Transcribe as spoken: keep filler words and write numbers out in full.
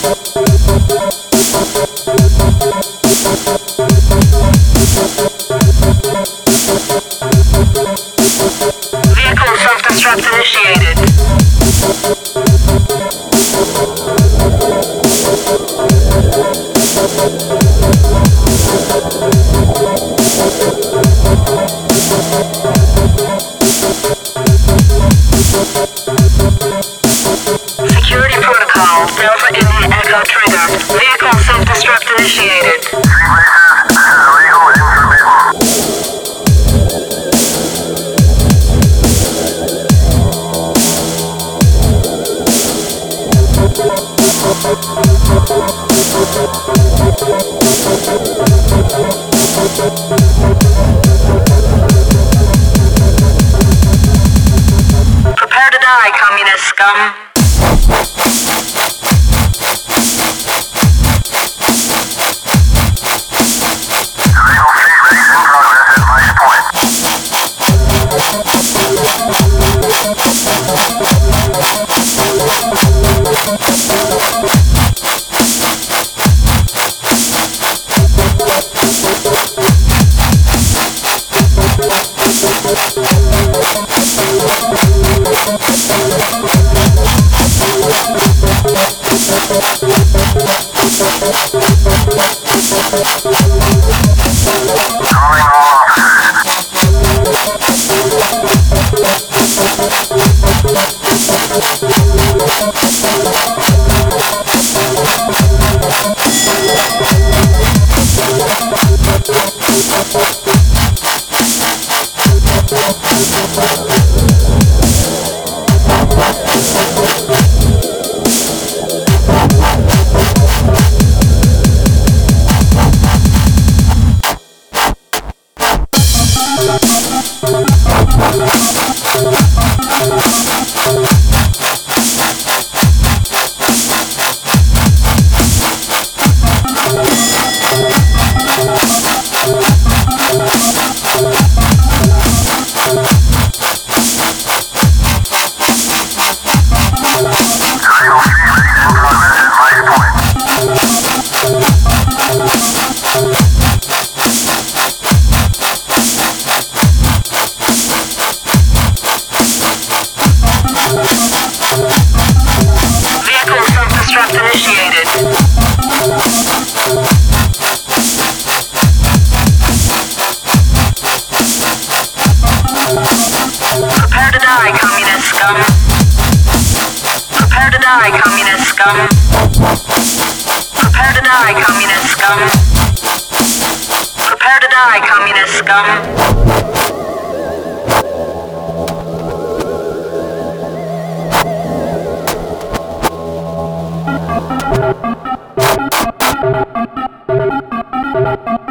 Vehicle self-destruct initiated. Security protocol, Delta India Echo triggered. Vehicle self-destruct initiated. Prepare to die, communist scum. Prepare to die, communist scum. Prepare to die, communist scum. Prepare to die, communist scum. Prepare to die, communist scum.